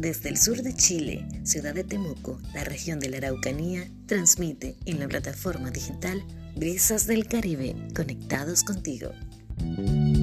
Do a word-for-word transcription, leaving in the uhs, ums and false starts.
Desde el sur de Chile, ciudad de Temuco, la región de la Araucanía, transmite en la plataforma digital Brisas del Caribe, conectados contigo.